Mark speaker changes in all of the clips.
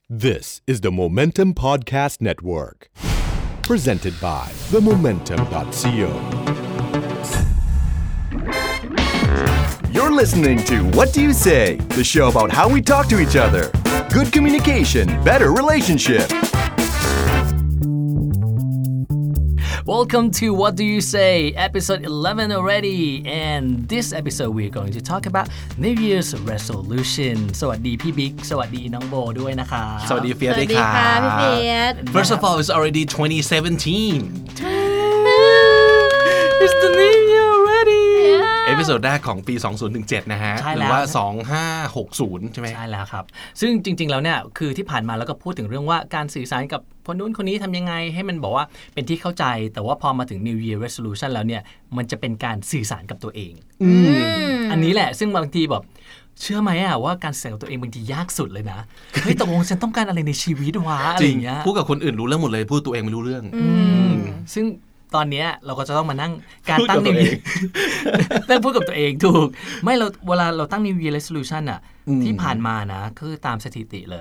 Speaker 1: This is the Momentum Podcast Network, presented by themomentum.co.
Speaker 2: You're listening to What Do You Say, the show about how we talk to each other. Good communication, better relationship.
Speaker 3: Welcome to What Do You Say, episode 11 already. And this episode we're going to talk about New Year's resolution. สวัสดีพี่บิ๊กสวัสดีน้องโบด้วยนะคะ
Speaker 4: สวัสดีเฟียสด้วยค่ะ
Speaker 5: พี่เฟียส
Speaker 4: First of all it's already 2017
Speaker 3: It's the new year already
Speaker 4: เอพิโซดแรกของปี 2017 นะฮะ
Speaker 3: ใช่
Speaker 4: ห
Speaker 3: แล้ว
Speaker 4: รือว่า 2560 ใช่ไหม
Speaker 3: ใช่แล้วครับซึ่งจริงๆแล้วเนี่ยคือที่ผ่านมาแล้วก็พูดถึงเรื่องว่าการสื่อสารกับคนนู้นคนนี้ทำยังไงให้มันบอกว่าเป็นที่เข้าใจแต่ว่าพอมาถึง New Year Resolution แล้วเนี่ยมันจะเป็นการสื่อสารกับตัวเองอันนี้แหละซึ่งบางทีแบบเชื่อไหมอะว่าการสื่อสารกับตัวเองบางทียากสุดเลยนะเฮ้ยตกลงฉันต้องการอะไรในชีวิตวะอะไรอย่างเงี้ย
Speaker 4: พูดกับคนอื่นรู้เรื่องหมดเลยพูดตัวเองไม่รู้เรื่อง
Speaker 3: ซึ่งตอนนี้เราก็จะต้องมานั่งการตั้ง New Year ได้พูดกับตัวเองถูกไม่เราเวลาเราตั้ง New Year Resolution อะที่ผ่านมานะคือตามสถิติเลย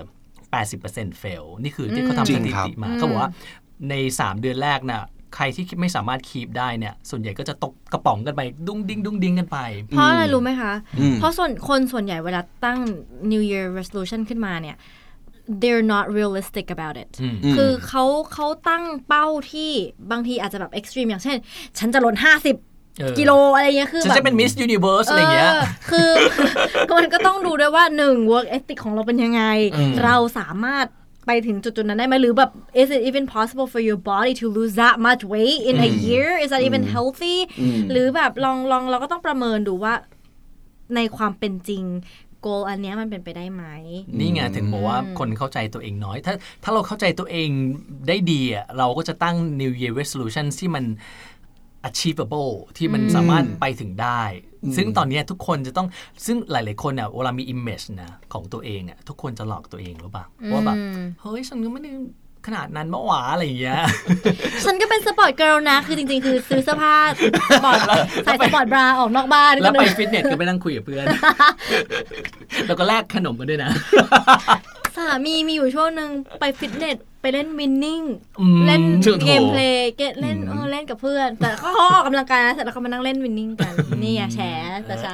Speaker 3: 80% fail นี่คือที่เขาทำสถิติมาเขาบอกว่าใน3เดือนแรกน่ะใครที่ไม่สามารถคีปได้เนี่ยส่วนใหญ่ก็จะตกกระป๋องกันไปดุ้งดิ้งกันไป
Speaker 5: เพราะอะไรรู้ไหมคะเพราะคนส่วนใหญ่เวลาตั้ง New Year Resolution ขึ้นมาเนี่ยthey're not realistic about it คือเขาตั้งเป้าที่บางทีอาจจะแบบ extreme อย่างเช่นฉันจะลด50กิโลอะไรเงี้ยคือ
Speaker 3: ฉันจะเป็น Miss Universe อะไรเงี้ย
Speaker 5: คือมันก็ต้องดูด้วยว่า1 work ethic ของเราเป็นยังไงเราสามารถไปถึงจุดนั้นได้ไหมหรือแบบ is it even possible for your body to lose that much weight in a year is that even healthy หรือแบบลองเราก็ต้องประเมินดูว่าในความเป็นจริงโกลอันนี้มันเป็นไปได้ไหม
Speaker 3: นี่ไงถึงบอกว่าคนเข้าใจตัวเองน้อยถ้าเราเข้าใจตัวเองได้ดีอ่ะเราก็จะตั้ง New Year Resolution ที่มัน achievable ที่มันสามารถไปถึงได้ซึ่งตอนนี้ทุกคนจะต้องซึ่งหลายๆคนเนี่ยเวลามี image นะของตัวเองอ่ะทุกคนจะหลอกตัวเองหรือเปล่าว่าแบบเฮ้ยฉันก็ไม่ได้ขนาดนั้นเมื่อวานอะไรอย่างเงี้ย
Speaker 5: ฉันก็เป็นสปอร์ตเกิร์ลนะคือจริงๆคือซื้อเสื้อผ้าสปอร์ตใส่สปอร์ตบราออกนอกบ้าน
Speaker 3: แล้วไปฟิตเนสก็ไปนั่งคุยกับเพื่อนแล้วก็แลกขนมกันด้วยนะ
Speaker 5: สามีมีอยู่ช่วงนึงไปฟิตเนสไปเล่นวินนิ่งเล่นเกมเพลย์เล่นกับเพื่อนแต่เขาออกกำลังกายนะเสร็จแล้วเขามานั่งเล่นวินนิ่งกันนี่แฉแต่เช้า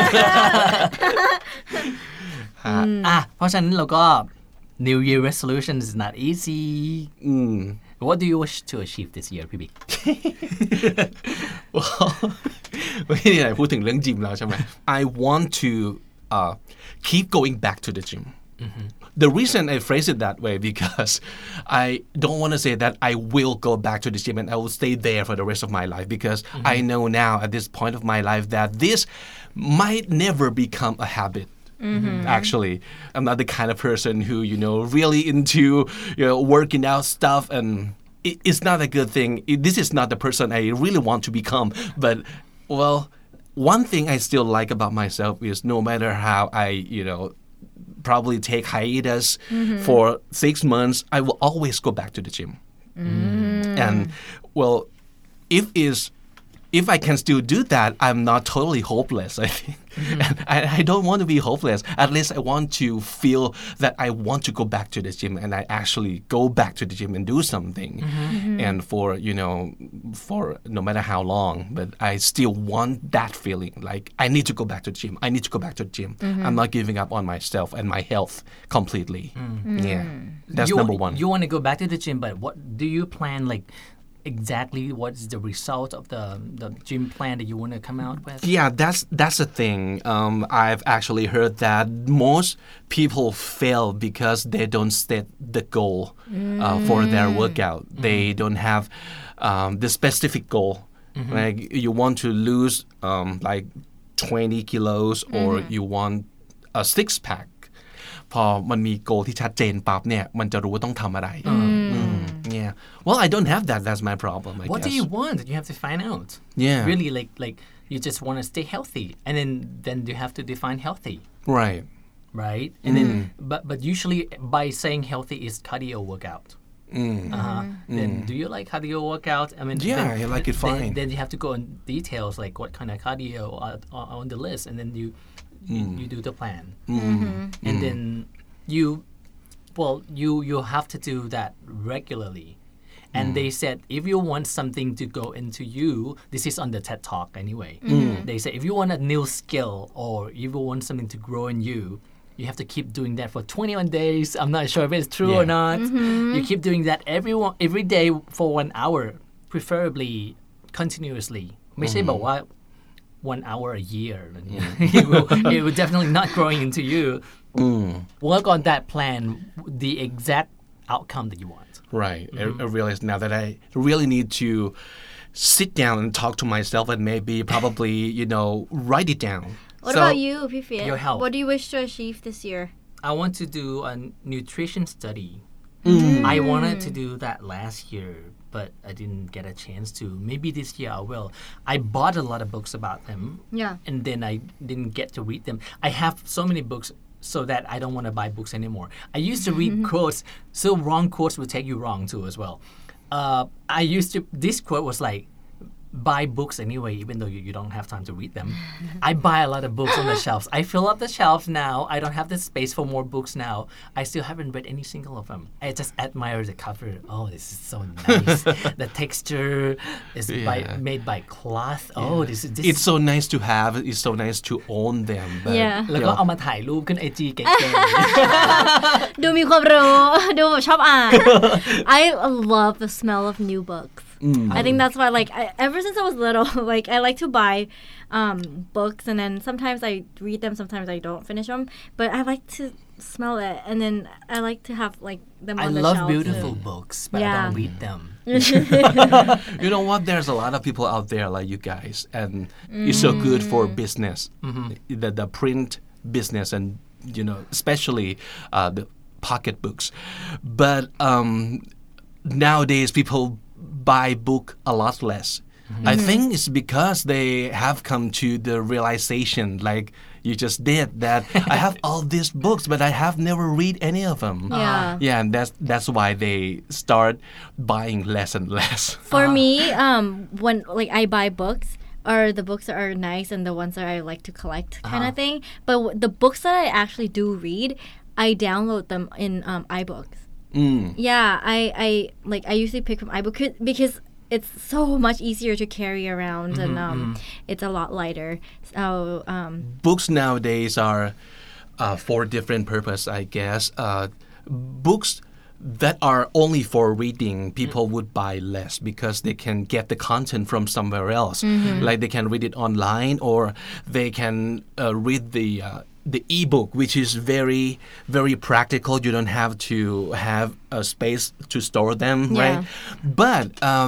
Speaker 3: เพราะฉะนั้นเราก็New Year resolution is not easy. What do you wish to achieve this year, PB?
Speaker 4: ไม่ได้ไหนพูดถึงเรื่องจิมแล้วใช่ไหม I want to keep going back to the gym. The reason I phrase it that way because I don't want to say that I will go back to the gym and I will stay there for the rest of my life because I know now at this point of my life that this might never become a habit.Actually, I'm not the kind of person who, really into, working out stuff and it's not a good thing. This is not the person I really want to become. But, well, one thing I still like about myself is no matter how I, probably take hiatus for 6 months, I will always go back to the gym. And, well, if I can still do that, I'm not totally hopeless, I think. And I don't want to be hopeless. At least I want to feel that I want to go back to the gym and I actually go back to the gym and do something. And for no matter how long, but I still want that feeling. Like, I need to go back to the gym. I need to go back to the gym. I'm not giving up on myself and my health completely. Yeah, that's number one.
Speaker 3: You want to go back to the gym, but what do you plan, exactly what's the result of the gym plan that you want to come out with?
Speaker 4: Yeah, that's the thing. I've actually heard that most people fail because they don't set the goal for their workout. They don't have the specific goal. Like you want to lose 20 kilos or you want a six-pack. พอมันมีโกที่ชัดเจนปั๊บเนี่ยมันจะรู้ว่าต้องทำอะไร Yeah. Well, I don't have that. That's my problem, I
Speaker 3: What
Speaker 4: guess.
Speaker 3: do you want? You have to find out.
Speaker 4: Yeah.
Speaker 3: Really, like you just want to stay healthy, and then you have to define healthy.
Speaker 4: Right.
Speaker 3: Right. And then, but usually by saying healthy is cardio workout. Then do you like cardio workout? I mean,
Speaker 4: I like it fine.
Speaker 3: Then you have to go in details like what kind of cardio are on the list, and then you do the plan, and then you Well, you have to do that regularly. And they said if you want something to go into you, this is on the TED Talk anyway. They say if you want a new skill or if you want something to grow in you, you have to keep doing that for 21 days. I'm not sure if it's true or not. You keep doing that every day for 1 hour, preferably continuously. ไม่ใช่บอกว่า 1 hour a year. it will definitely not growing into you. Work on that plan, the exact outcome that you want.
Speaker 4: Right. I realize now that I really need to sit down and talk to myself and maybe probably, write it down.
Speaker 5: What about you, Phi-Phi?
Speaker 3: Your health.
Speaker 5: What do you wish to achieve this year?
Speaker 3: I want to do a nutrition study. I wanted to do that last year, but I didn't get a chance to. Maybe this year I will. I bought a lot of books about them.
Speaker 5: Yeah.
Speaker 3: And then I didn't get to read them. I have so many books so that I don't want to buy books anymore. I used to read quotes, so wrong quotes will take you wrong too as well. This quote was like, buy books anyway, even though you don't have time to read them. I buy a lot of books on the shelves. I fill up the shelves now. I don't have the space for more books now. I still haven't read any single of them. I just admire the cover. Oh, this is so nice. The texture is made by cloth. Oh, this is...
Speaker 4: It's so nice to have. It's so nice to own them. But,
Speaker 5: Yeah.
Speaker 3: แล้วก็เอามาถ่ายรูปขึ้น IG เก๋
Speaker 5: ดูมีความรู้ ดูแบบชอบอ่าน I love the smell of new books. I think that's why, ever since I was little, I like to buy books, and then sometimes I read them, sometimes I don't finish them, but I like to smell it, and then I like to have them
Speaker 3: I
Speaker 5: on the
Speaker 3: love
Speaker 5: shelves.
Speaker 3: beautiful books, but I don't read them.
Speaker 4: You know what? There's a lot of people out there like you guys, and it's so good for business, the print business, and especially the pocketbooks. But nowadays, people buy book a lot less. I think it's because they have come to the realization, like you just did, that I have all these books, but I have never read any of them.
Speaker 5: Yeah.
Speaker 4: And that's why they start buying less and less.
Speaker 5: For me, when I buy books, or the books that are nice and the ones that I like to collect kind of thing. But the books that I actually do read, I download them in iBooks. Yeah, I usually pick from iBook because it's so much easier to carry around and it's a lot lighter. So
Speaker 4: Books nowadays are for different purpose, I guess. Books that are only for reading, people would buy less because they can get the content from somewhere else. Like they can read it online, or they can read the ebook, which is very, very practical. You don't have to have a space to store them, right? But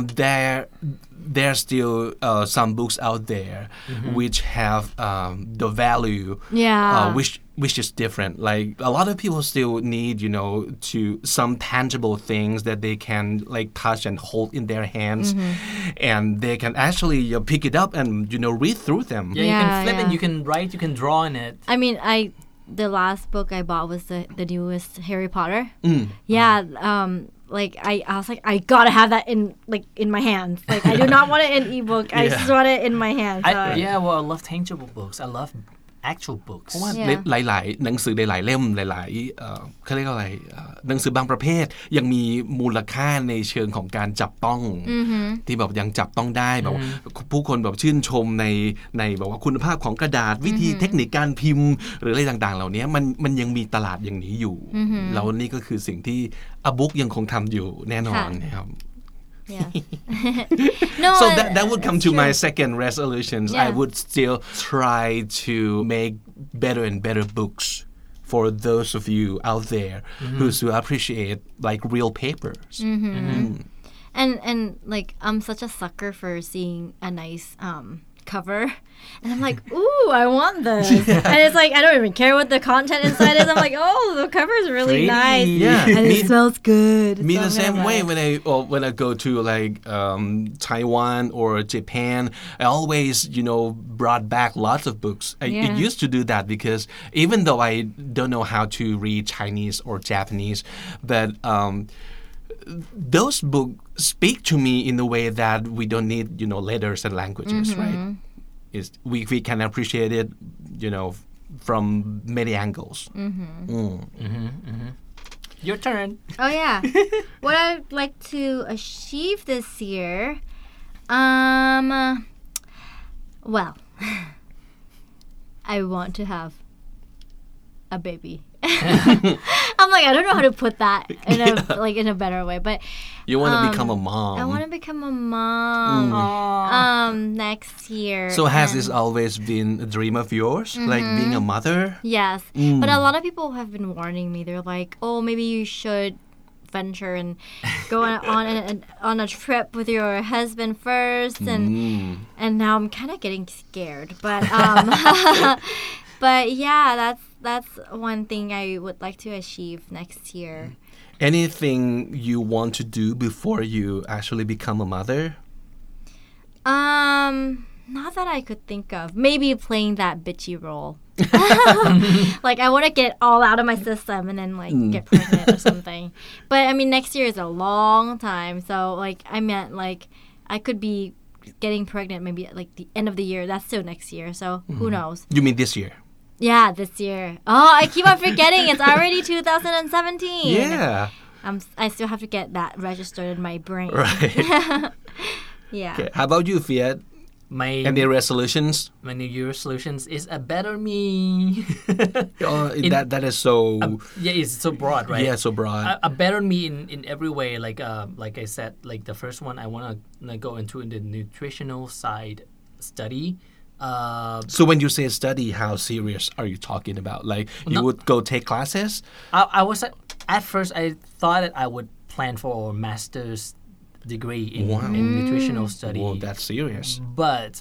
Speaker 4: there's still some books out there which have the value, which is different. Like a lot of people still need, to some tangible things that they can touch and hold in their hands, and they can actually pick it up and read through them.
Speaker 3: Yeah, you can flip it, you can write, you can draw in it.
Speaker 5: I mean, the last book I bought was the newest Harry Potter. Yeah, I was like, I gotta have that in my hands. I do not want it in ebook. I just want it in my hands.
Speaker 3: Well, I love tangible books. I love actual books.
Speaker 4: เพราะว่าหลายๆหนังสือหลายๆเล่มหลายๆเขาเรียกว่าอะไรหนังสือบางประเภทยังมีมูลค่าในเชิงของการจับต้องที่แบบยังจับต้องได้แบบผู้คนแบบชื่นชมในแบบว่าคุณภาพของกระดาษวิธีเทคนิคการพิมพ์หรืออะไรต่างๆเหล่านี้มันยังมีตลาดอย่างนี้อยู่แล้วนี่ก็คือสิ่งที่บุ๊กยังคงทำอยู่แน่นอนนะครับ
Speaker 5: Yeah. No,
Speaker 4: so that would come to my second resolutions. I would still try to make better and better books for those of you out there who appreciate real papers.
Speaker 5: And I'm such a sucker for seeing a nice cover, and I'm like, ooh, I want this. And it's I don't even care what the content inside is. I'm like, oh, the cover is really nice.
Speaker 4: Yeah,
Speaker 5: and it smells good.
Speaker 4: Me the same way when I go to Taiwan or Japan. I always brought back lots of books. I used to do that because even though I don't know how to read Chinese or Japanese, but those books speak to me in a way that we don't need, letters and languages, right? We can appreciate it, from many angles.
Speaker 3: Your turn.
Speaker 5: Oh yeah. What I'd like to achieve this year, well, I want to have a baby. I'm like, I don't know how to put that in a better way, but
Speaker 4: You want to become a mom.
Speaker 5: I want to become a mom next year.
Speaker 4: So has
Speaker 5: and-
Speaker 4: this always been a dream of yours, like being a mother?
Speaker 5: Yes, but a lot of people have been warning me. They're like, "Oh, maybe you should venture and go on a trip with your husband first." And now I'm kind of getting scared. But but yeah, that's one thing I would like to achieve next year.
Speaker 4: Anything you want to do before you actually become a mother?
Speaker 5: Not that I could think of. Maybe playing that bitchy role. Like I want to get all out of my system and then like get pregnant or something. But I mean, next year is a long time, so like I meant like I could be getting pregnant maybe at like the end of the year. That's still next year, so who knows?
Speaker 4: You mean this year?
Speaker 5: Yeah, this year. Oh, I keep on forgetting. It's already 2017.
Speaker 4: Yeah.
Speaker 5: I still have to get that registered in my brain.
Speaker 4: Right.
Speaker 5: Yeah.
Speaker 4: Okay. How about you, Fiat? Any resolutions?
Speaker 3: My New Year resolutions is a better me.
Speaker 4: That is so.
Speaker 3: Yeah, it's so broad, right?
Speaker 4: Yeah, so broad.
Speaker 3: A better me in every way. Like I said, like the first one, I want to go into the nutritional side study.
Speaker 4: So when you say study, how serious are you talking about? Like you would go take classes?
Speaker 3: I was at first I thought that I would plan for a master's degree in nutritional study.
Speaker 4: Well, that's serious.
Speaker 3: But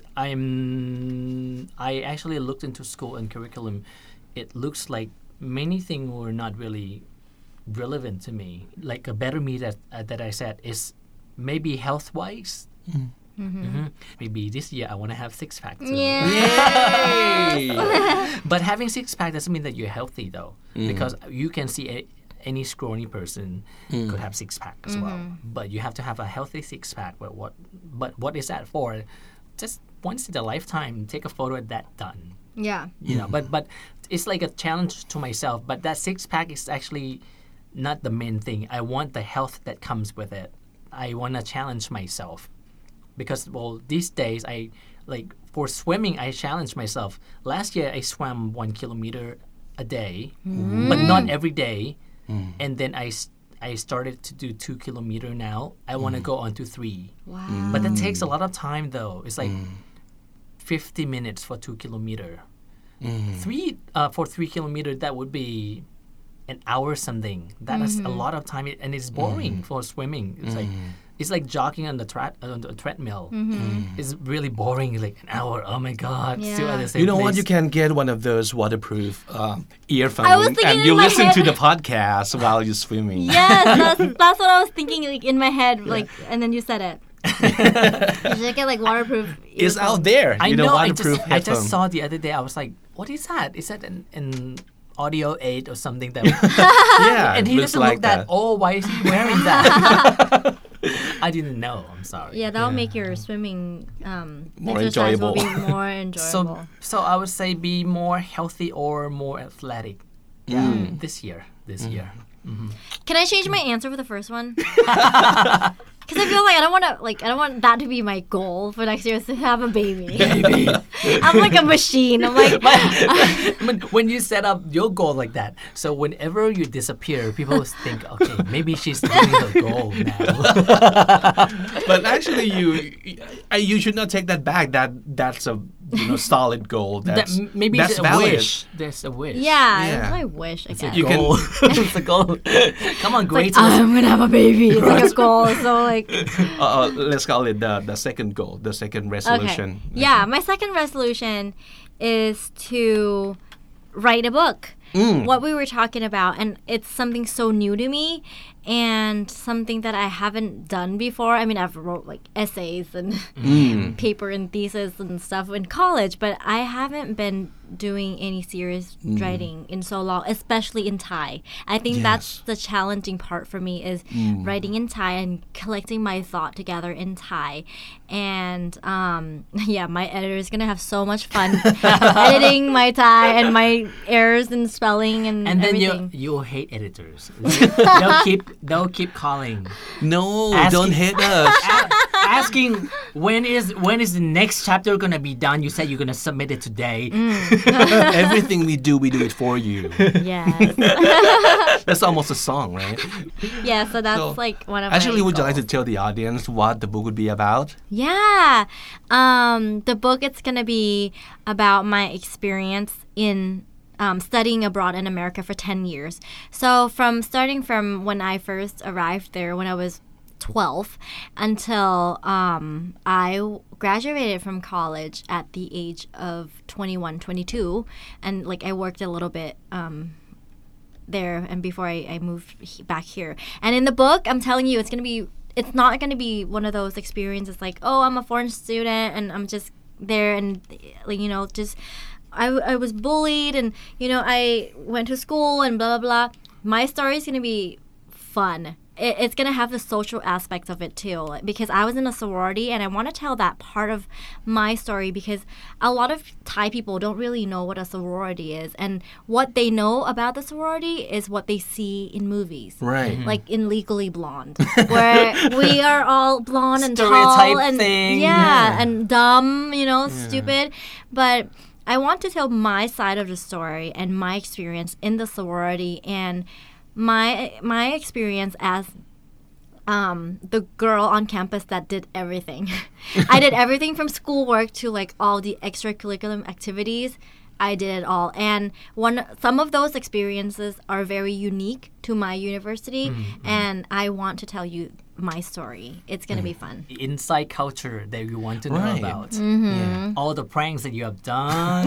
Speaker 3: I actually looked into school and curriculum. It looks like many things were not really relevant to me. Like a better me that I said is maybe health wise. Maybe this year I want to have 6-pack too.
Speaker 4: Yay!
Speaker 3: But having 6-pack doesn't mean that you're healthy though, because you can see any scrawny person could have 6-pack as well. But you have to have a healthy 6-pack. But what is that for? Just once in a lifetime, take a photo of that done.
Speaker 5: Yeah.
Speaker 3: You know, but it's like a challenge to myself. But that 6-pack is actually not the main thing. I want the health that comes with it. I want to challenge myself. Because, well, these days, for swimming, I challenge myself. Last year, I swam 1 kilometer a day, but not every day. And then I started to do 2 kilometer now. I want to go on to 3.
Speaker 5: Wow.
Speaker 3: But that takes a lot of time, though. It's like 50 minutes for 2 kilometer. For 3 kilometer, that would be an hour something. That is a lot of time, and it's boring for swimming. It's like jogging on the treadmill. It's really boring, like an hour. Oh my God, still at the same
Speaker 4: You know what?
Speaker 3: place.
Speaker 4: You can get one of those waterproof earphones,
Speaker 5: I was thinking
Speaker 4: and
Speaker 5: in
Speaker 4: you
Speaker 5: my
Speaker 4: listen
Speaker 5: head-
Speaker 4: to the podcast while you're swimming.
Speaker 5: Yes, that's what I was thinking, like in my head, like, and then you said it. You should get like waterproof.
Speaker 4: It's
Speaker 5: earphones.
Speaker 4: out there.
Speaker 3: I
Speaker 4: you
Speaker 3: know.
Speaker 4: waterproof
Speaker 3: I just
Speaker 4: headphone.
Speaker 3: saw the other day. I was like, "What is that? Is that an audio aid or something?" That
Speaker 4: Yeah,
Speaker 3: and
Speaker 4: it
Speaker 3: he
Speaker 4: looks
Speaker 3: doesn't
Speaker 4: like
Speaker 3: look that.
Speaker 4: that.
Speaker 3: Oh, why is he wearing that? I didn't know. I'm sorry.
Speaker 5: Yeah, that'll make your swimming
Speaker 4: More
Speaker 5: exercise
Speaker 4: enjoyable.
Speaker 5: will be more enjoyable.
Speaker 3: So I would say be more healthy or more athletic. Yeah, this year.
Speaker 5: Can I change my answer for the first one? Because I feel like I don't want that to be my goal for next year is to have a baby. I'm like a machine. I'm like
Speaker 3: When you set up your goal like that, so whenever you disappear, people think, okay, maybe she's doing her goal now.
Speaker 4: But actually, you should not take that back. That's a solid goal.
Speaker 3: Maybe
Speaker 4: that's
Speaker 3: it's a
Speaker 4: valid.
Speaker 3: wish. There's a wish.
Speaker 5: yeah,
Speaker 4: Yeah.
Speaker 5: it's my wish. I guess.
Speaker 4: You can-
Speaker 3: Goal. It's a goal. Come on,
Speaker 5: It's
Speaker 3: great.
Speaker 5: like, I'm gonna have a baby. It's like a goal. So like
Speaker 4: Let's call it the second goal, the second
Speaker 5: okay.
Speaker 4: resolution.
Speaker 5: Yeah, my second resolution is to write a book. What we were talking about, and it's something so new to me and something that I haven't done before. I mean, I've wrote like essays and paper and thesis and stuff in college, but I haven't been doing any serious writing in so long, especially in Thai. I think that's the challenging part for me is writing in Thai and collecting my thought together in Thai. And my editor is gonna have so much fun editing my Thai and my errors in spelling and
Speaker 3: then
Speaker 5: everything.
Speaker 3: you'll hate editors. they'll keep calling,
Speaker 4: No,
Speaker 3: Asking-
Speaker 4: don't hate us.
Speaker 3: asking when is the next chapter gonna be done. You said you're gonna submit it today.
Speaker 4: Everything we do it for you.
Speaker 5: Yes.
Speaker 4: That's almost a song, right?
Speaker 5: Yeah, so that's
Speaker 4: So,
Speaker 5: like one of
Speaker 4: Actually,
Speaker 5: my
Speaker 4: would you like to
Speaker 5: goals.
Speaker 4: tell the audience what the book would be about?
Speaker 5: Yeah. The book, it's going to be about my experience in studying abroad in America for 10 years. So starting from when I first arrived there when I was 12 until I graduated from college at the age of 21, 22. And like I worked a little bit there and before I moved back here. And in the book, I'm telling you, it's not going to be one of those experiences like, oh, I'm a foreign student and I'm just there and, like, you know, just I was bullied and, you know, I went to school and blah, blah, blah. My story is going to be fun. It's going to have the social aspect of it too, because I was in a sorority and I want to tell that part of my story because a lot of Thai people don't really know what a sorority is, and what they know about the sorority is what they see in movies.
Speaker 4: Right.
Speaker 5: Like in Legally Blonde, where we are all blonde and
Speaker 3: Stereotype
Speaker 5: tall and
Speaker 3: thing.
Speaker 5: and dumb, you know, stupid. But I want to tell my side of the story and my experience in the sorority and my experience as the girl on campus that did everything. I did everything from schoolwork to like all the extracurricular activities. I did it all, and some of those experiences are very unique to my university, and I want to tell you my story. It's gonna be fun.
Speaker 3: Inside culture that you want to know
Speaker 4: Right.
Speaker 3: about.
Speaker 4: Yeah.
Speaker 3: All the pranks that you have done.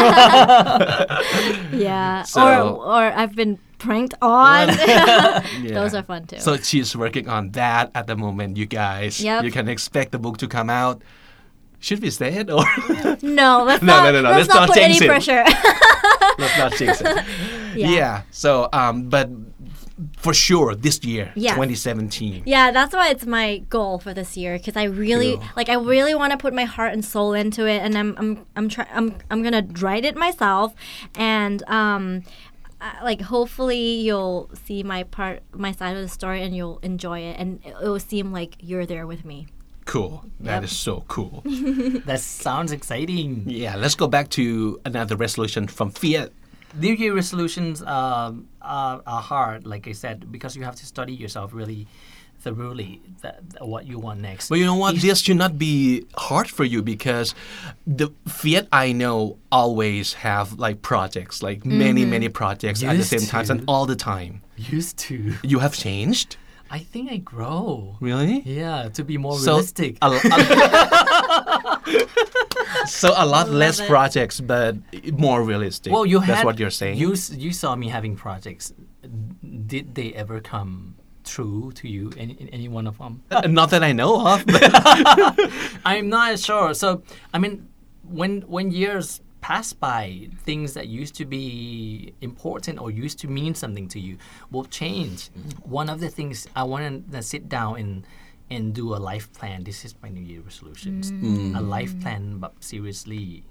Speaker 5: Yeah,
Speaker 4: So-
Speaker 5: or I've been pranked on.
Speaker 4: Yeah.
Speaker 5: Those are fun too.
Speaker 4: So she's working on that at the moment, you guys.
Speaker 5: Yep.
Speaker 4: You can expect the book to come out. Should we say it or
Speaker 5: no, let's
Speaker 4: No,
Speaker 5: not.
Speaker 4: no, no,
Speaker 5: Let's
Speaker 4: let's
Speaker 5: not
Speaker 4: not
Speaker 5: put any
Speaker 4: jinx it.
Speaker 5: pressure.
Speaker 4: let's not jinx it?
Speaker 5: Yeah.
Speaker 4: So, but for sure this year,
Speaker 5: Yes.
Speaker 4: 2017.
Speaker 5: Yeah, that's why it's my goal for this year because I really
Speaker 4: Cool.
Speaker 5: I really want to put my heart and soul into it, and I'm gonna write it myself, and like hopefully you'll see my side of the story and you'll enjoy it, and it will seem like you're there with me.
Speaker 4: Cool. That
Speaker 5: Yep.
Speaker 4: is so cool.
Speaker 3: That sounds exciting.
Speaker 4: Yeah, let's go back to another resolution from Fiat.
Speaker 3: New Year resolutions are hard, like I said, because you have to study yourself really thoroughly what you want next.
Speaker 4: But you know what? This should not be hard for you because the Fiat I know always have like projects, like many projects at the
Speaker 3: Used
Speaker 4: same time
Speaker 3: to.
Speaker 4: and all the time.
Speaker 3: Used to.
Speaker 4: You have changed?
Speaker 3: I think I grow.
Speaker 4: Really?
Speaker 3: Yeah, to be more
Speaker 4: So
Speaker 3: realistic.
Speaker 4: so a lot less
Speaker 5: it.
Speaker 4: projects, but more realistic.
Speaker 3: Well,
Speaker 4: That's what you're saying.
Speaker 3: You saw me having projects. Did they ever come true to you? Any one of them?
Speaker 4: Not that I know of. But
Speaker 3: I'm not sure. So, I mean, when years pass by, things that used to be important or used to mean something to you will change. One of the things I want to sit down and do a life plan. This is my New Year resolutions. A life plan, but seriously.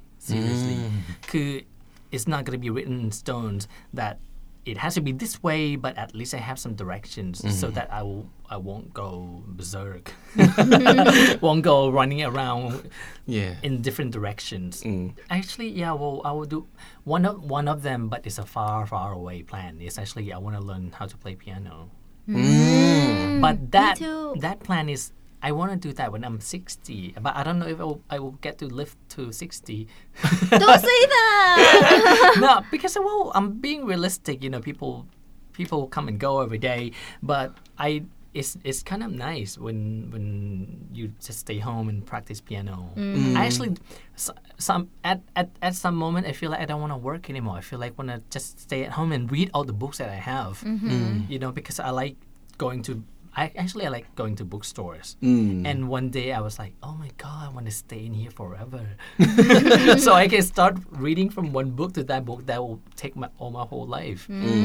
Speaker 3: It's not going to be written in stones that it has to be this way, but at least I have some directions so that I won't go berserk, won't go running around
Speaker 4: yeah.
Speaker 3: in different directions. Actually, yeah, well, I will do one of them, but it's a far away plan. It's actually I want to learn how to play piano. But
Speaker 5: too.
Speaker 3: that plan is I want to do that when I'm 60, but I don't know if I will get to live to 60.
Speaker 5: Don't say that.
Speaker 3: No, because I'm being realistic. You know, people come and go every day, but it's kind of nice when you just stay home and practice piano. I actually at some moment I feel like I don't want to work anymore. I feel like I want to just stay at home and read all the books that I have. You know, because I like going to I like going to bookstores. And one day I was like, oh my God, I want to stay in here forever. So I can start reading from one book to that book that will take my whole life.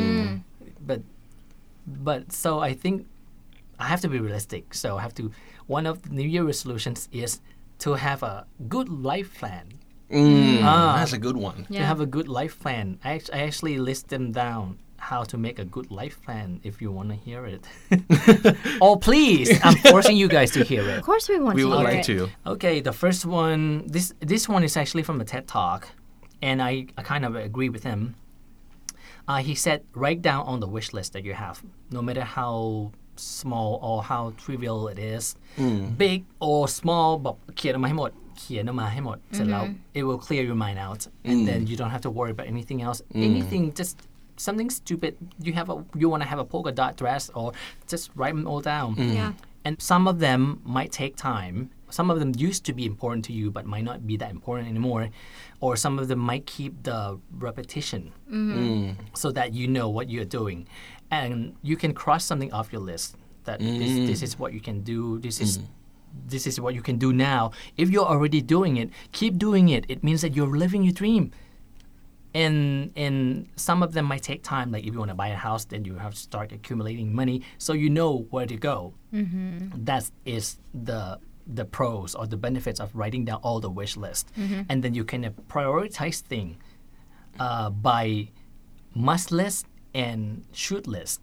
Speaker 3: But so I think I have to be realistic. So I have to, one of the New Year resolutions is to have a good life plan.
Speaker 4: That's a good one.
Speaker 3: To have a good life plan. I actually list them down how to make a good life plan if you want to hear it. Oh, please. I'm forcing you guys to hear it.
Speaker 5: Of course we want
Speaker 4: We
Speaker 5: to
Speaker 4: would
Speaker 5: hear
Speaker 4: like
Speaker 5: it.
Speaker 4: to.
Speaker 3: Okay, the first one, this one is actually from a TED Talk, and I kind of agree with him. He said, write down on the wish list that you have, no matter how small or how trivial it is, big or small, บอกเขียนออกมาให้หมดเสร็จแล้ว it will clear your mind out, and then you don't have to worry about anything else. Anything, just something stupid. You want to have a polka dot dress, or just write them all down.
Speaker 5: Yeah.
Speaker 3: And some of them might take time. Some of them used to be important to you, but might not be that important anymore. Or some of them might keep the repetition so that you know what you're doing. And you can cross something off your list that this is what you can do. This is what you can do now. If you're already doing it, keep doing it. It means that you're living your dream. And some of them might take time. Like if you want to buy a house, then you have to start accumulating money so you know where to go. That is the pros or the benefits of writing down all the wish list. And then you can prioritize things by must list and should list.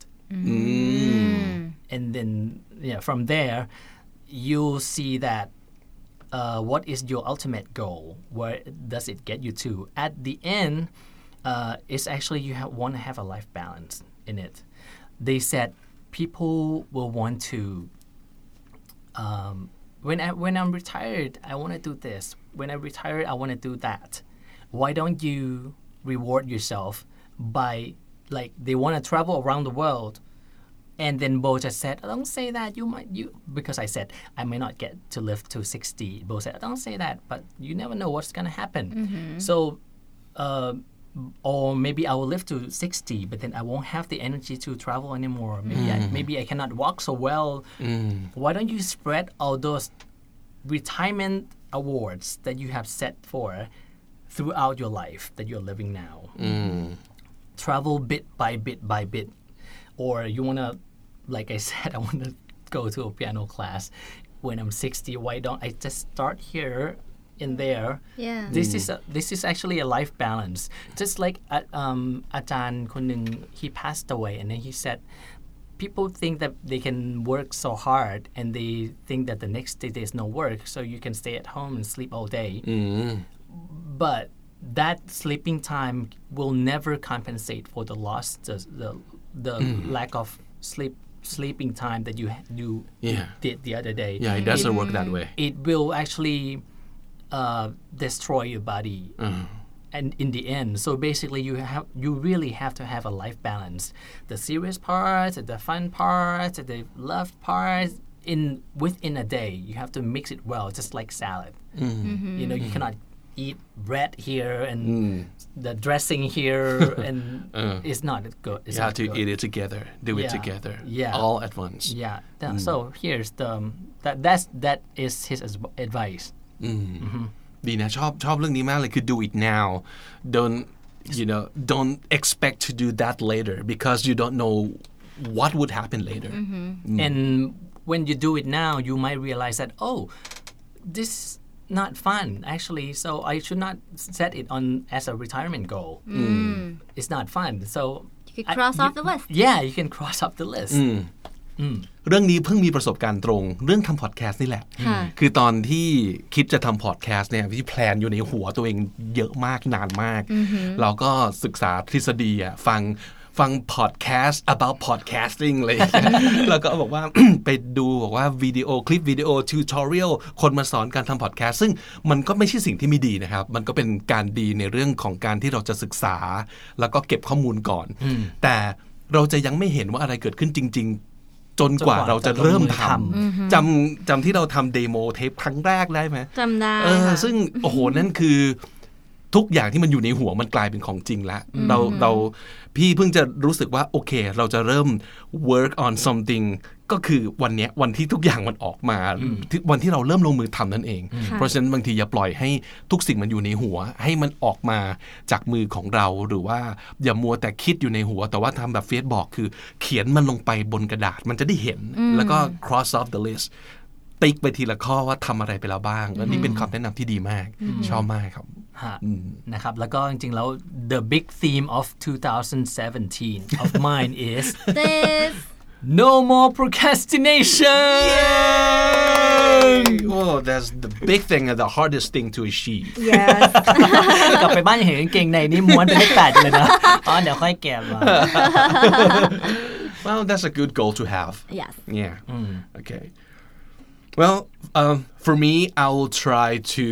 Speaker 3: And then from there, you'll see that what is your ultimate goal? Where does it get you to? At the end, it's actually you want to have a life balance in it. They said people will want to, when I'm retired, I want to do this. When I'm retired, I want to do that. Why don't you reward yourself by, like, they want to travel around the world. And then Bo just said, don't say that, because I said, I may not get to live to 60. Bo said, don't say that, but you never know what's going to happen. So, or maybe I will live to 60, but then I won't have the energy to travel anymore. Maybe I cannot walk so well. Why don't you spread all those retirement awards that you have set for throughout your life that you're living now? Travel bit by bit by bit. Or you want to, like I said, I want to go to a piano class when I'm 60. Why don't I just start here and there?
Speaker 5: Yeah.
Speaker 3: This is actually a life balance. Just like อาจารย์คนหนึ่ง he passed away, and then he said, people think that they can work so hard and they think that the next day there's no work, so you can stay at home and sleep all day. But that sleeping time will never compensate for the loss, the lack of sleeping time that you did the other day.
Speaker 4: Yeah, it doesn't work that way.
Speaker 3: It will actually destroy your body. And in the end, so basically you really have to have a life balance. The serious parts, the fun parts, the love parts, within a day. You have to mix it well, just like salad. You cannot eat bread here and the dressing here, and it's not good.
Speaker 4: You have to eat it together, do it together, all at once.
Speaker 3: Yeah. So here's that is his advice.
Speaker 4: ดีนะชอบเรื่องนี้มากเลยคือ do it now. Don't expect to do that later because you don't know what would happen later.
Speaker 3: And when you do it now, you might realize that, this not fun actually, so I should not set it on as a retirement goal. It's not fun, so
Speaker 5: you can cross off the list.
Speaker 3: Yeah, you can cross off the list.
Speaker 4: เรื่องนี้เพิ่งมีประสบการณ์ตรงเรื่องทำพอดแคสต์นี่แหละคือตอนที่คิดจะทำพอดแคสต์เนี่ยที่แพลนอยู่ในหัวตัวเองเยอะมากนานมากเราก็ศึกษาทฤษฎีฟังพอดแคสต์ about podcasting เลย แล้วก็บอกว่า ไปดูบอกว่าคลิปวิดีโอทิวทอเรียลคนมาสอนการทำพอดแคสต์ซึ่งมันก็ไม่ใช่สิ่งที่ไม่ดีนะครับมันก็เป็นการดีในเรื่องของการที่เราจะศึกษาแล้วก็เก็บข้อมูลก่อนแต่เราจะยังไม่เห็นว่าอะไรเกิดขึ้นจริงๆจนกว่าเราจะเริ่มทำจำที่เราทำเดโมเทปครั้งแรกได้ไหม
Speaker 5: จำได้
Speaker 4: ซึ่งโอ้โหนั่นคือทุกอย่างที่มันอยู่ในหัวมันกลายเป็นของจริงแล้วเราพี่เพิ่งจะรู้สึกว่าโอเคเราจะเริ่ม work on something ก็คือวันเนี้ยวันที่ทุกอย่างมันออกมาวันที่เราเริ่มลงมือทำนั่นเองเพราะฉะนั้นบางทีอย่าปล่อยให้ทุกสิ่งมันอยู่ในหัวให้มันออกมาจากมือของเราหรือว่าอย่ามัวแต่คิดอยู่ในหัวแต่ว่าทำแบบเฟซบอกคือเขียนมันลงไปบนกระดาษมันจะได้เห็นแล้วก็ cross off the list ติ๊กไปทีละข้อว่าทำอะไรไปแล้วบ้างและนี่เป็นคำแนะนำที่ดีมากชอบมากครับ
Speaker 3: นะครับแล้วก็จริงๆแล้ว the big theme of 2017 of mine is
Speaker 5: this
Speaker 3: no more procrastination
Speaker 4: oh that's the big thing and the hardest thing to achieve
Speaker 5: yes
Speaker 3: กลับไปบ้านยังเห็นกางเกงในนี่ม้วนเป็นเลข 8เลยนะอ๋อเดี๋ยวค่อยแกะมา
Speaker 4: well that's a good goal to have
Speaker 5: yes
Speaker 4: yeah okay well for me I will try to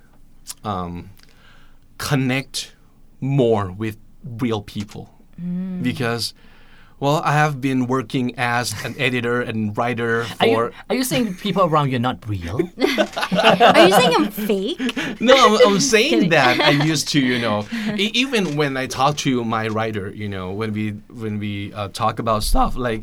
Speaker 4: connect more with real people because well I have been working as an editor and writer for
Speaker 3: are you saying people around you are not real
Speaker 5: are you saying I'm fake
Speaker 4: no I'm saying that I used to even when I talk to my writer when we talk about stuff like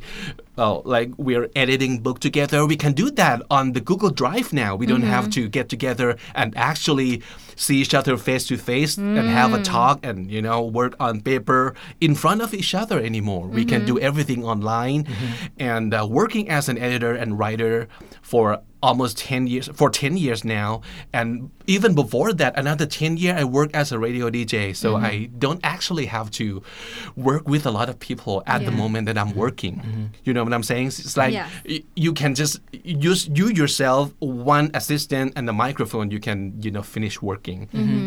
Speaker 4: we're editing book together we can do that on the Google Drive now we don't have to get together and actually see each other face to face and have a talk and work on paper in front of each other anymore we can do everything online and working as an editor and writer for almost 10 years now and even before that another 10 years I work as a radio DJ so I don't actually have to work with a lot of people at the moment that I'm working you know what I'm saying it's like you can just use you yourself one assistant and the microphone you can finish working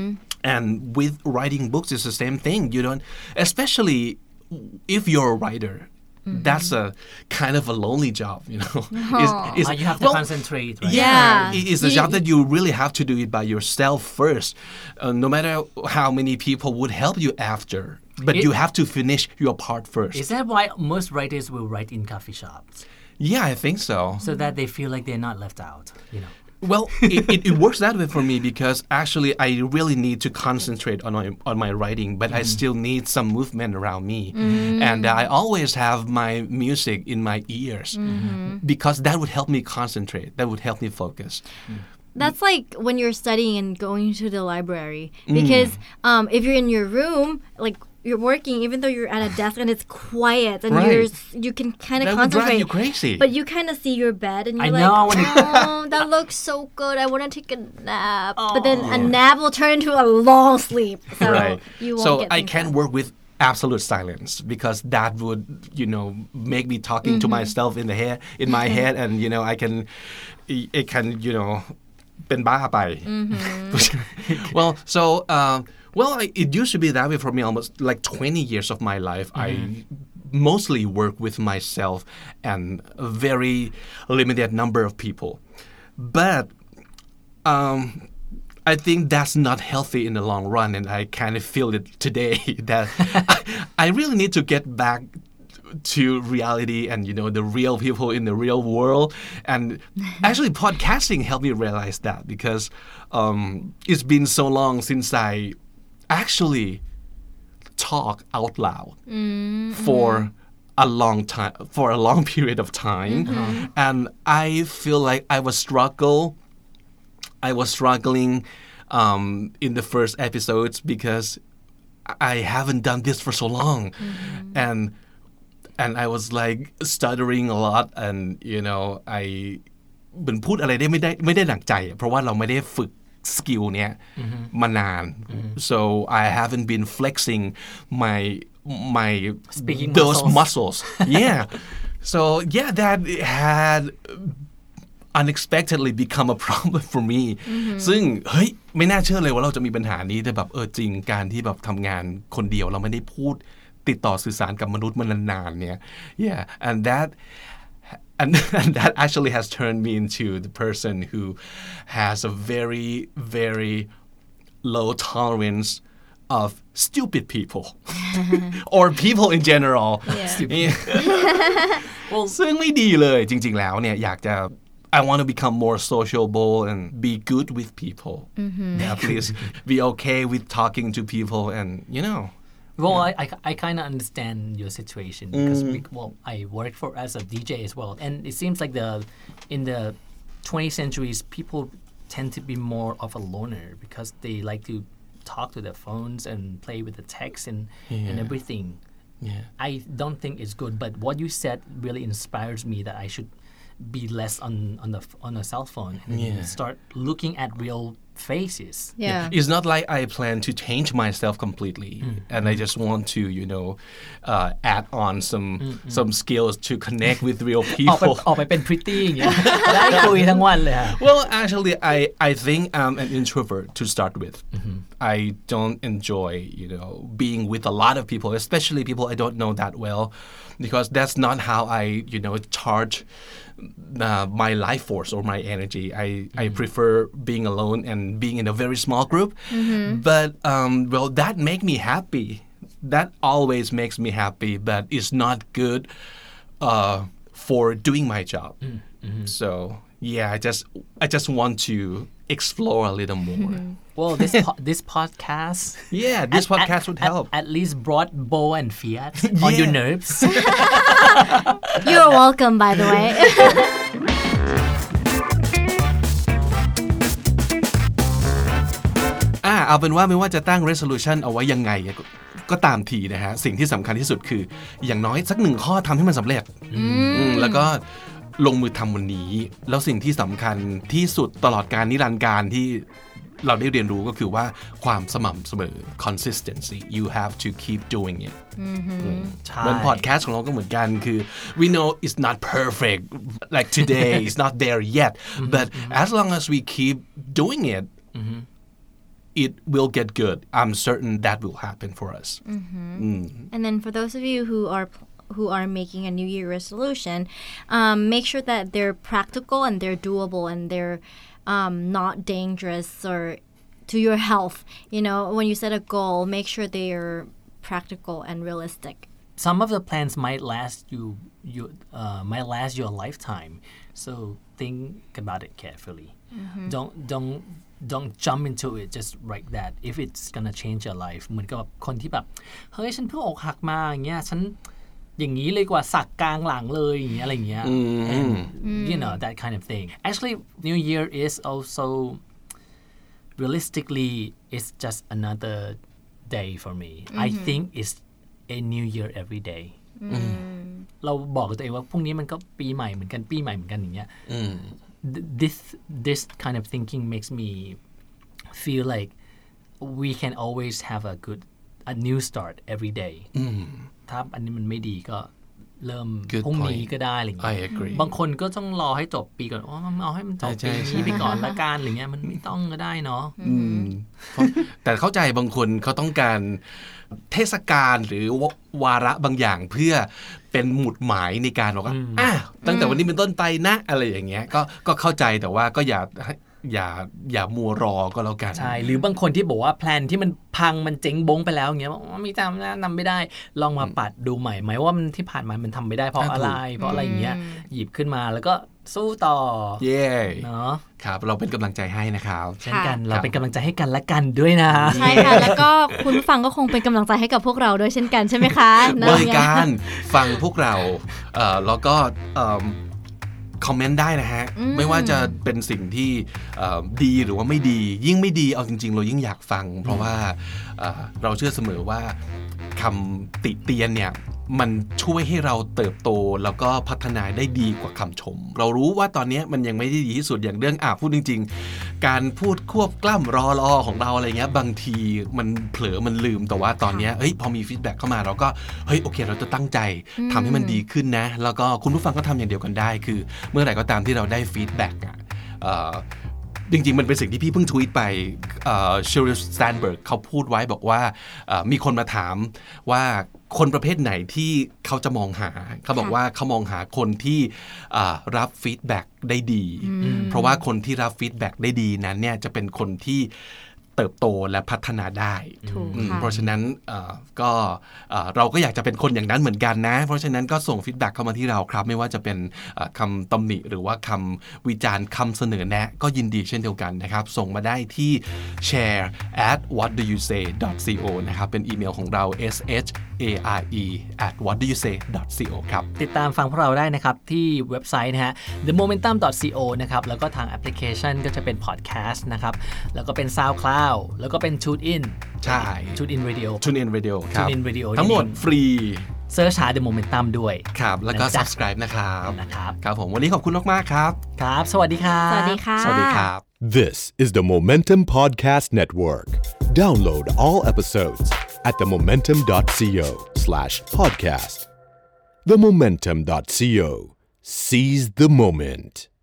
Speaker 4: and with writing books it's the same thing you don't especially if you're a writer that's a kind of a lonely job,
Speaker 3: you have to concentrate, right?
Speaker 5: Yeah.
Speaker 4: It's a job that you really have to do it by yourself first, no matter how many people would help you after. But you have to finish your part first.
Speaker 3: Is that why most writers will write in coffee shops?
Speaker 4: Yeah, I think so.
Speaker 3: So that they feel like they're not left out,
Speaker 4: Well, it works that way for me because actually I really need to concentrate on my writing, but I still need some movement around me. And I always have my music in my ears because that would help me concentrate. That would help me focus.
Speaker 5: That's like when you're studying and going to the library because if you're in your room, like you're working, even though you're at a desk and it's quiet and you can kind of concentrate.
Speaker 4: That would drive you crazy.
Speaker 5: But you kind of see your bed and you're oh, that looks so good. I want to take a nap. But then a nap will turn into a long sleep. So you won't get
Speaker 4: I can't work with absolute silence because that would, make me talking to myself in my head and, it can, เป็นบ้าไป Well, it used to be that way for me almost like 20 years of my life. I mostly work with myself and a very limited number of people. But I think that's not healthy in the long run, and I kind of feel it today that I really need to get back to reality and the real people in the real world and actually podcasting helped me realize that because it's been so long since I actually talk out loud for a long time for a long period of time and I feel like I was struggling in the first episodes because I haven't done this for so long and I was like stuttering a lot and I เหมือนพูดอะไรได้ไม่ได้ดั่งใจเพราะว่าเราไม่ได้ฝึกสกิลเนี้ยมานาน so I haven't been flexing my
Speaker 3: speaking
Speaker 4: those muscles yeah so yeah that had unexpectedly become a problem for me ซึ่งเฮ้ยไม่น่าเชื่อเลยว่าเราจะมีปัญหานี้แต่แบบจริงการที่แบบทำงานคนเดียวเราไม่ได้พูดติดต่อสื่อสารกับมนุษย์มานานๆเนี่ย yeah and that actually has turned me into the person who has a very very low tolerance of stupid people or people in general ซึ่งไม่ดีเลยจริงๆแล้วเนี่ยอยากจะI want to become more sociable and be good with people. Yeah, please be okay with talking to people and
Speaker 3: Well, I kind of understand your situation because I work as a DJ as well, and it seems like in the 20th centuries people tend to be more of a loner because they like to talk to their phones and play with the text and everything.
Speaker 4: Yeah.
Speaker 3: I don't think it's good, but what you said really inspires me that I should be less on a cell phone and start looking at real faces.
Speaker 5: Yeah.
Speaker 4: It's not like I plan to change myself completely, and I just want to, add on some skills to connect with real
Speaker 3: ออก
Speaker 4: people.
Speaker 3: ไปเป็น pretty อย่างเงี้ย ได้คุยทั้งวันเลยฮะ
Speaker 4: Well, actually, I think I'm an introvert to start with. I don't enjoy, being with a lot of people, especially people I don't know that well, because that's not how I, charge my life force or my energy. I prefer being alone and being in a very small group. But, that makes me happy. That always makes me happy, but it's not good for doing my job. So, yeah, I just want to explore a little more.
Speaker 3: Well, this podcast
Speaker 4: Yeah, this podcast would help.
Speaker 3: at least brought Bo and Fiat on your nerves.
Speaker 5: You're welcome, by the way.
Speaker 4: เอาเป็นว่าไม่ว่าจะตั้ง resolution เอาไว้ยังไงก็ตามทีนะฮะสิ่งที่สำคัญที่สุดคืออย่างน้อยสักหนึ่งข้อทำให้มันสำเร็จแล้วก็ลงมือทำวันนี้แล้วสิ่งที่สำคัญที่สุดตลอดการนิรันดร์การที่เราได้เรียนรู้ก็คือว่าความสม่ำเสมอ consistency you have to keep doing it เหมือน podcast ของเราก็เหมือนกันคือ we know it's not perfect like today it's not there yet but as long as we keep doing it it will get good. I'm certain that will happen for us.
Speaker 5: And then for those of you who are making a New Year resolution, make sure that they're practical and they're doable and they're not dangerous or to your health. When you set a goal, make sure they are practical and realistic.
Speaker 3: Some of the plans might last your lifetime. So think about it carefully. Don't jump into it just like that if it's gonna change your life เหมือนกับคนที่แบบเฮ้ยฉันเพิ่งอกหักมาอย่างเงี้ยฉันอย่างนี้เลยกว่าสักกลางหลังเลยอย่างเงี้ยอะไรอย่างเงี้ย and that kind of thing. Actually, New Year is also realistically it's just another day for me. I think it's a new year every day. เราบอกกับตัวเองว่าพรุ่งนี้มันก็ปีใหม่เหมือนกันปีใหม่เหมือนกันอย่างเงี้ยThis kind of thinking makes me feel like we can always have a new start every day. ถ้าอันนี้มันไม่ดีก็เริ่มพรุ่งนี้ก็ได้อะไรอย่างเงี้ย
Speaker 4: I agree.
Speaker 3: บางคนก็ต้องรอให้จบปีก่อนเอาให้มันจบปีนี้ไปก่อนละกันอะไรเงี้ยมันไม่ต้องก็ได้เนาะ
Speaker 4: แต่เข้าใจบางคนเขาต้องการเทศกาลหรือวาระบางอย่างเพื่อเป็นหมุดหมายในการบอกว่าตั้งแต่วันนี้เป็นต้นไปนะอะไรอย่างเงี้ยก็เข้าใจแต่ว่าก็อย่ามัวรอก็แล้วกัน
Speaker 3: ใช่หรือบางคนที่บอกว่าแพลนที่มันพังมันเจ๊งบงไปแล้วอย่างเงี้ยไม่ทำไม่ได้ลองมาปัดดูใหม่ไหมว่ามันที่ผ่านมามันทำไม่ได้เพราะอะไรอย่างเงี้ยหยิบขึ้นมาแล้วก็สู้ต่อเนาะ
Speaker 4: ครับเราเป็นกำลังใจให้นะครับ
Speaker 3: เช่นกันเราเป็นกำลังใจให้กันและกันด้วยนะ
Speaker 5: ใช่ค่ะแล้วก็คุณผู้ฟังก็คงเป็นกำลังใจให้กับพวกเราด้วยเช่นกันใช่ไหมคะ
Speaker 4: บริการฟังพวกเราแล้วก็คอมเมนต์ได้นะฮะไม่ว่าจะเป็นสิ่งที่ดีหรือว่าไม่ดียิ่งไม่ดีเอาจริงๆเรายิ่งอยากฟังเพราะว่าเราเชื่อเสมอว่าคำติเตียนเนี่ยมันช่วยให้เราเติบโตแล้วก็พัฒนาได้ดีกว่าคำชมเรารู้ว่าตอนนี้มันยังไม่ได้ดีที่สุดอย่างเรื่องพูดจริงๆการพูดควบกล้ำรอของเราอะไรเงี้ยบางทีมันเผลอมันลืมแต่ว่าตอนนี้พอมีฟีดแบ็กเข้ามาเราก็โอเคเราจะตั้งใจทำให้มันดีขึ้นนะแล้วก็คุณผู้ฟังก็ทำอย่างเดียวกันได้คือเมื่อไหร่ก็ตามที่เราได้ฟีดแบ็กจริงๆมันเป็นสิ่งที่พี่เพิ่งทวีตไปเชอริล สแตนเบิร์กเขาพูดไว้บอกว่ามีคนมาถามว่าคนประเภทไหนที่เขาจะมองหาเขาบอกว่าเขามองหาคนที่รับฟีดแบ็กได้ดีเพราะว่าคนที่รับฟีดแบ็กได้ดีนั้นเนี่ยจะเป็นคนที่เติบโตและพัฒนาได้
Speaker 5: ถูกค่ะ
Speaker 4: เพราะฉะนั้นก็เราก็อยากจะเป็นคนอย่างนั้นเหมือนกันนะเพราะฉะนั้นก็ส่งฟีดแบ็กเข้ามาที่เราครับไม่ว่าจะเป็นคำตำหนิหรือว่าคำวิจารณ์คำเสนอแนะก็ยินดีเช่นเดียวกันนะครับส่งมาได้ที่ share@whatdoyousay.co นะครับเป็นอีเมลของเรา share@whatdoyousay.co ครับ
Speaker 3: ติดตามฟังพวกเราได้นะครับที่เว็บไซต์นะฮะ themomentum.co นะครับแล้วก็ทางแอปพลิเคชันก็จะเป็นพอดแคสต์นะครับแล้วก็เป็น SoundCloud แล้วก็เป็น TuneIn
Speaker 4: ใช่
Speaker 3: TuneIn Radio
Speaker 4: TuneIn Radio ครับ
Speaker 3: TuneIn Radio
Speaker 4: ทั้งหมดฟรี
Speaker 3: เซิร์ชหา The Momentum ด้วย
Speaker 4: ครับแล้วก็
Speaker 3: นะจ๊ะ
Speaker 4: subscribe นะครับ
Speaker 3: นะครับ
Speaker 4: ครับผมวันนี้ขอบคุณมากๆครับ
Speaker 3: ครับ สวัสดีครับ
Speaker 5: สวัสดีค่ะ
Speaker 4: สวัสดีครับ
Speaker 1: This is the Momentum Podcast Network. Download all episodes at themomentum.co/podcast. Themomentum.co. Seize the moment.